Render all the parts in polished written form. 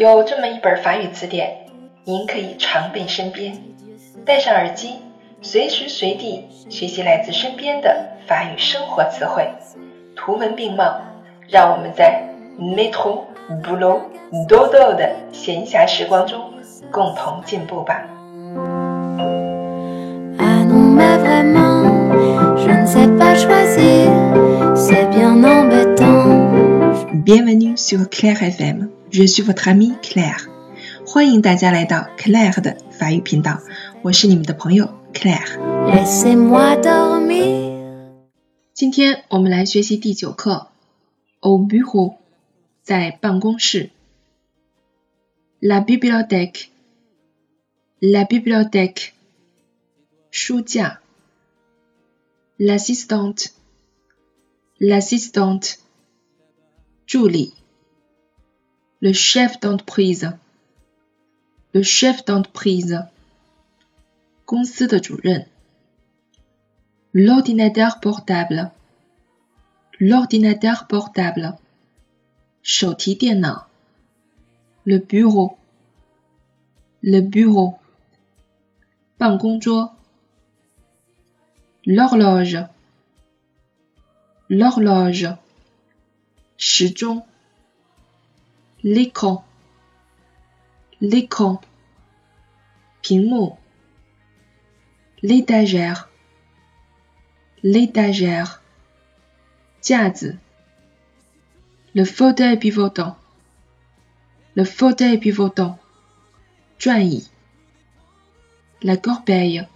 有这么一本法语词典，您可以常备身边，戴上耳机，随时随地学习来自身边的法语生活词汇，图文并茂，让我们在 métro, boulot, dodo 的闲暇时光中共同进步吧。 Bienvenue sur Claire FM, je suis votre amie Claire. 欢迎大家来到 Claire 的法语频道，我是你们的朋友 Claire。今天我们来学习第9课 Au bureau， 在办公室。La bibliothèque, la bibliothèque， 书架。L'assistante, l'assistante， 助理。Le chef d'entreprise, le chef d'entreprise， 公司的主任。L'ordinateur portable, l'ordinateur portable， 手提电脑。Le bureau, le bureau， 办公桌。L'horloge, l'horloge， 时钟。L'écran, l'écran， 屏幕。L'étagère, l'étagère， 架子。Le fauteuil pivotant, le fauteuil pivotant， 转椅。La corbeille,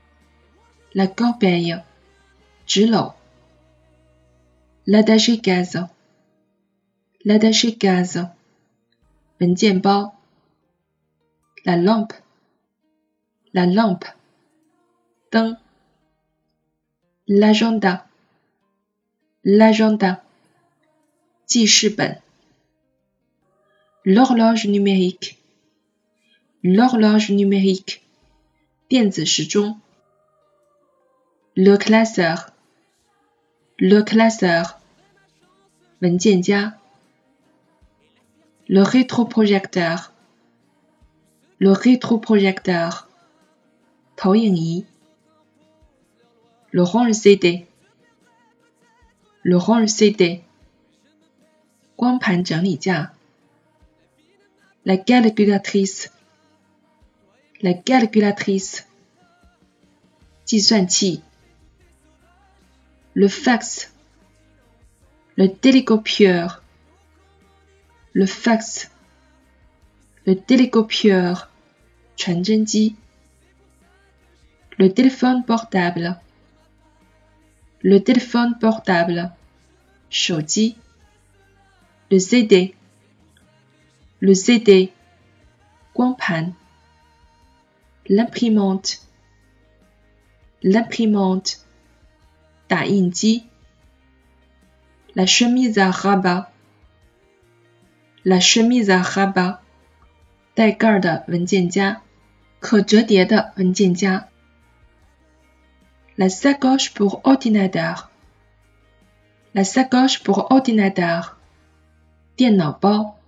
la corbeille， 纸篓。L'attaché gaz, l'attaché gaz， 文件包。La lampe, la lampe， 灯。L'agenda, l'agenda， 记事本。L'horloge numérique, l'horloge numérique， 电子时钟。Le classeur, le classeur， 文件夹。Le rétroprojecteur, le rétroprojecteur， 投影仪。Le range CD, le range CD， 光盘整理架。La calculatrice, la calculatrice， 计算器。Le fax, le télécopieur, le fax, le télécopieur， 传真机。Le téléphone portable, le téléphone portable， 手机。Le CD, le CD， 光盘。L'imprimante, l'imprimante， 打印机。La chemise à rabat, la chemise à rabat， 带盖的文件夹，可折叠的文件夹。La sacoche pour ordinateur, la sacoche pour ordinateur， 电脑包。